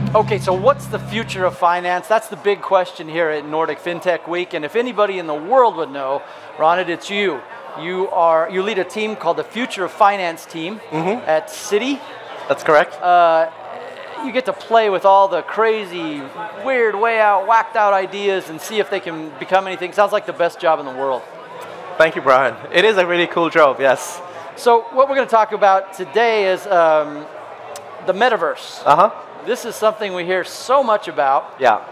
Okay, so what's the future of finance? That's the big question here at Nordic FinTech Week. And if anybody in the world would know, Ronit, it's you. You lead a team called the Future of Finance team at Citi. That's correct. You get to play with all the crazy, weird, whacked out ideas and see if they can become anything. Sounds like the best job in the world. Thank you, Brian. It is a really cool job, yes. So what we're going to talk about today is the metaverse. This is something we hear so much about. Yeah.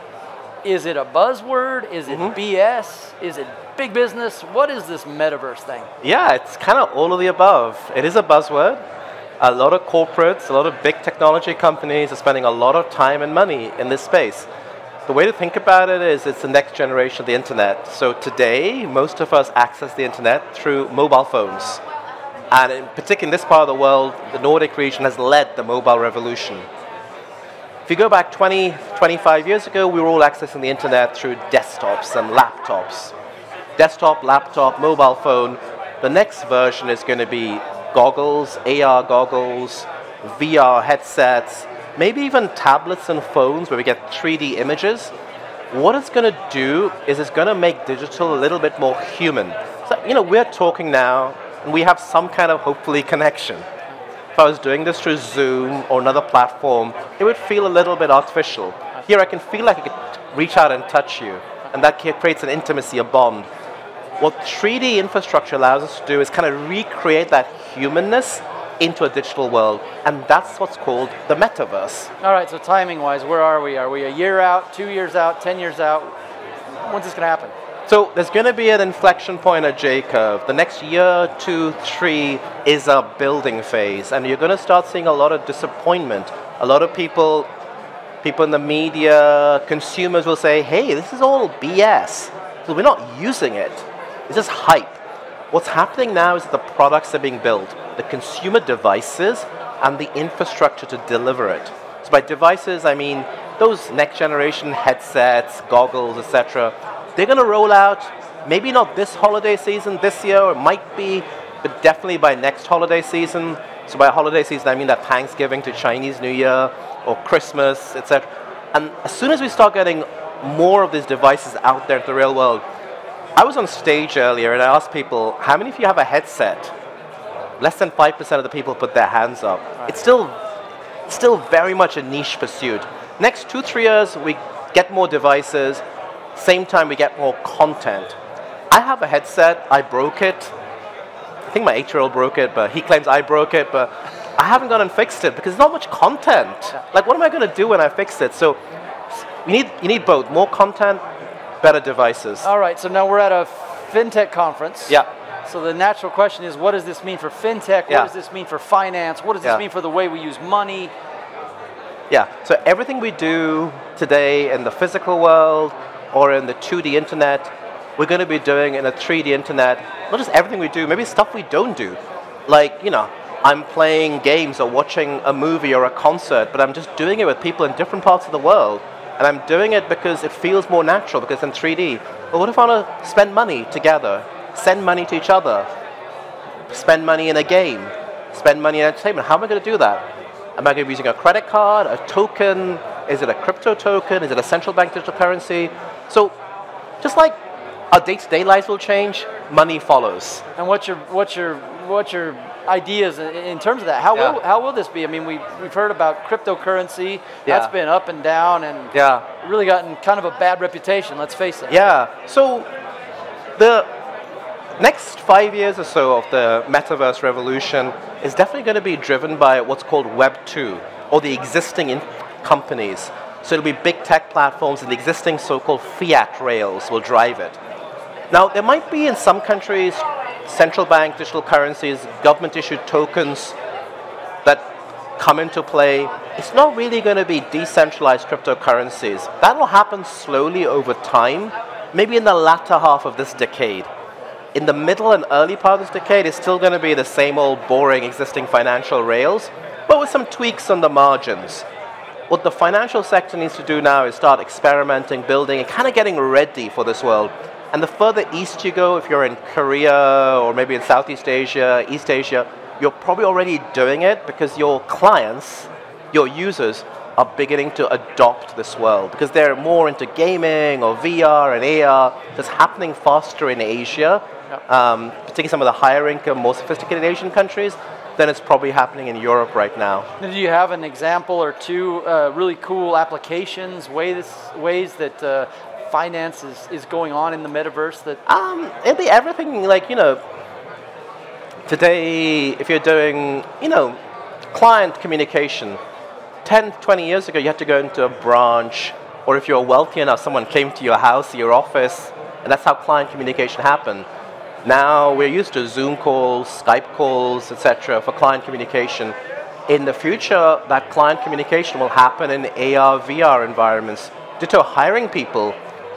Is it a buzzword? Is it BS? Is it big business? What is this metaverse thing? Yeah, it's kind of all of the above. It is a buzzword. A lot of corporates, a lot of big technology companies are spending a lot of time and money in this space. The way to think about it is it's the next generation of the internet. So today, most of us access the internet through mobile phones. And in particular in this part of the world, the Nordic region has led the mobile revolution. If you go back 20, 25 years ago, we were all accessing the internet through desktops and laptops. Desktop, laptop, mobile phone. The next version is going to be goggles, AR goggles, VR headsets, maybe even tablets and phones where we get 3D images. What it's going to do is it's going to make digital a little bit more human. So, we're talking now, and we have some kind of, hopefully, connection. If I was doing this through Zoom or another platform, it would feel a little bit artificial. Here I can feel like I could reach out and touch you, and that creates an intimacy, a bond. What 3D infrastructure allows us to do is kind of recreate that humanness into a digital world, and that's what's called the metaverse. All right, so timing-wise, where are we? Are we a year out, 2 years out, 10 years out? When's this going to happen? So there's going to be an inflection point, a J-curve. The next year, 2, 3 is a building phase, and you're going to start seeing a lot of disappointment. A lot of people in the media, consumers will say, hey, this is all BS, so we're not using it. It's just hype. What's happening now is that the products are being built, the consumer devices and the infrastructure to deliver it. So by devices, I mean those next generation headsets, goggles, etc. They're going to roll out, maybe not this holiday season, this year, or it might be, but definitely by next holiday season. So by holiday season, I mean that Thanksgiving to Chinese New Year or Christmas, etc. And as soon as we start getting more of these devices out there in the real world, I was on stage earlier and I asked people, how many of you have a headset? Less than 5% of the people put their hands up. Right. It's still very much a niche pursuit. Next 2-3 years, we get more devices. Same time, we get more content. I have a headset. I broke it. I think my 8-year-old broke it, but he claims I broke it. But I haven't gone and fixed it because there's not much content. Like, what am I going to do when I fix it? So you need both. More content, better devices. All right, so now we're at a FinTech conference. Yeah. So the natural question is, what does this mean for FinTech? What does this mean for finance? What does this mean for the way we use money? Yeah, so everything we do today in the physical world or in the 2D internet, we're going to be doing in a 3D internet. Not just everything we do, maybe stuff we don't do. Like, I'm playing games or watching a movie or a concert, but I'm just doing it with people in different parts of the world. And I'm doing it because it feels more natural, because in 3D. But what if I want to spend money together, send money to each other, spend money in a game, spend money in entertainment? How am I going to do that? Am I going to be using a credit card, a token? Is it a crypto token? Is it a central bank digital currency? So just like our day-to-day lives will change, money follows. And what's your ideas in terms of that? How will this be? I mean, we've heard about cryptocurrency. That's been up and down and really gotten kind of a bad reputation, let's face it. Yeah. So the next 5 years or so of the metaverse revolution is definitely going to be driven by what's called Web 2, or the existing companies. So it'll be big tech platforms, and the existing so-called fiat rails will drive it. Now, there might be in some countries central bank digital currencies, government-issued tokens that come into play. It's not really going to be decentralized cryptocurrencies. That will happen slowly over time, maybe in the latter half of this decade. In the middle and early part of this decade, it's still going to be the same old boring existing financial rails, but with some tweaks on the margins. What the financial sector needs to do now is start experimenting, building, and kind of getting ready for this world. And the further east you go, if you're in Korea or maybe in Southeast Asia, East Asia, you're probably already doing it because your clients, your users, are beginning to adopt this world because they're more into gaming or VR and AR. That's happening faster in Asia, particularly some of the higher income, more sophisticated Asian countries, than it's probably happening in Europe right now. Do you have an example or two really cool applications, ways that finance is going on in the metaverse? That it'll be everything, like, today, if you're doing, client communication, 10, 20 years ago, you had to go into a branch, or if you're wealthy enough, someone came to your house, your office, and that's how client communication happened. Now we're used to Zoom calls, Skype calls, etc. for client communication. In the future, that client communication will happen in AR, VR environments. Ditto hiring people.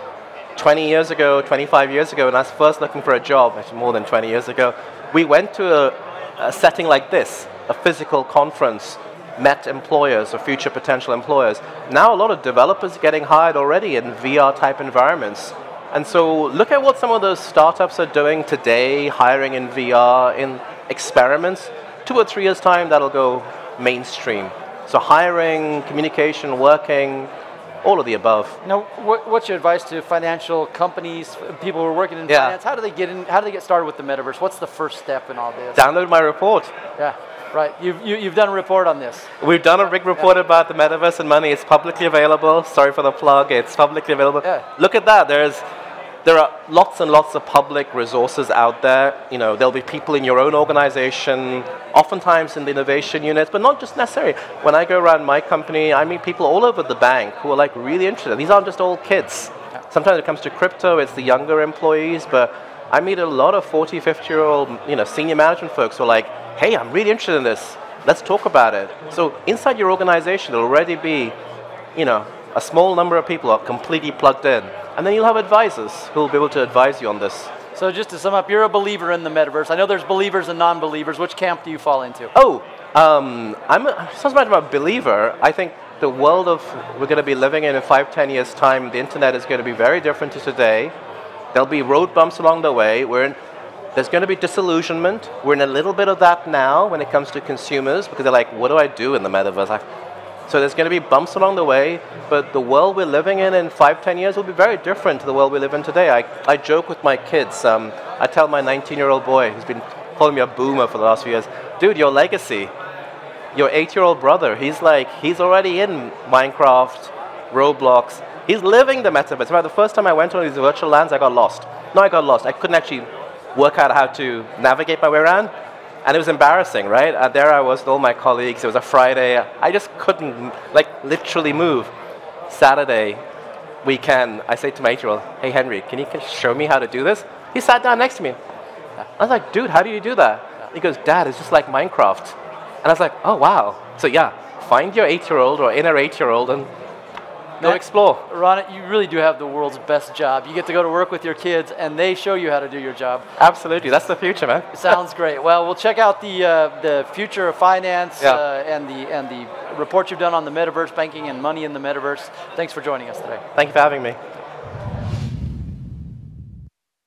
20 years ago, 25 years ago, when I was first looking for a job, actually more than 20 years ago, we went to a setting like this, a physical conference, met employers or future potential employers. Now a lot of developers are getting hired already in VR type environments. And so look at what some of those startups are doing today, hiring in VR, in experiments. 2 or 3 years' time, that'll go mainstream. So hiring, communication, working, all of the above. Now, what's your advice to financial companies, people who are working in finance? How do they get in? How do they get started with the metaverse? What's the first step in all this? Download my report. Yeah, right. You've done a report on this. We've done a big report about the metaverse and money. It's publicly available. Sorry for the plug. It's publicly available. Yeah. Look at that. There are lots and lots of public resources out there. There'll be people in your own organization, oftentimes in the innovation units, but not just necessarily. When I go around my company, I meet people all over the bank who are like really interested. These aren't just old kids. Sometimes it comes to crypto, it's the younger employees, but I meet a lot of 40, 50-year-old, senior management folks who are like, hey, I'm really interested in this. Let's talk about it. So inside your organization, there'll already be, a small number of people are completely plugged in. And then you'll have advisors who will be able to advise you on this. So just to sum up, you're a believer in the metaverse. I know there's believers and non-believers. Which camp do you fall into? Sounds like I'm a believer. I think the world we're going to be living in 5, 10 years' time, the internet is going to be very different to today. There'll be road bumps along the way. There's going to be disillusionment. We're in a little bit of that now when it comes to consumers, because they're like, what do I do in the metaverse? So there's going to be bumps along the way, but the world we're living in 5, 10 years will be very different to the world we live in today. I joke with my kids. I tell my 19-year-old boy, who's been calling me a boomer for the last few years, dude, your legacy, your 8-year-old brother, he's already in Minecraft, Roblox. He's living the metaverse. In fact, the first time I went on these virtual lands, I got lost. I couldn't actually work out how to navigate my way around. And it was embarrassing, right? There I was with all my colleagues. It was a Friday. I just couldn't, literally move. Saturday, weekend, I say to my 8-year-old, hey, Henry, can you show me how to do this? He sat down next to me. I was like, dude, how do you do that? He goes, Dad, it's just like Minecraft. And I was like, oh, wow. So, find your 8-year-old or inner 8-year-old and go explore. Ron, you really do have the world's best job. You get to go to work with your kids, and they show you how to do your job. Absolutely, that's the future, man. Sounds great. Well, we'll check out the future of finance and the report you've done on the metaverse, banking and money in the metaverse. Thanks for joining us today. Thank you for having me.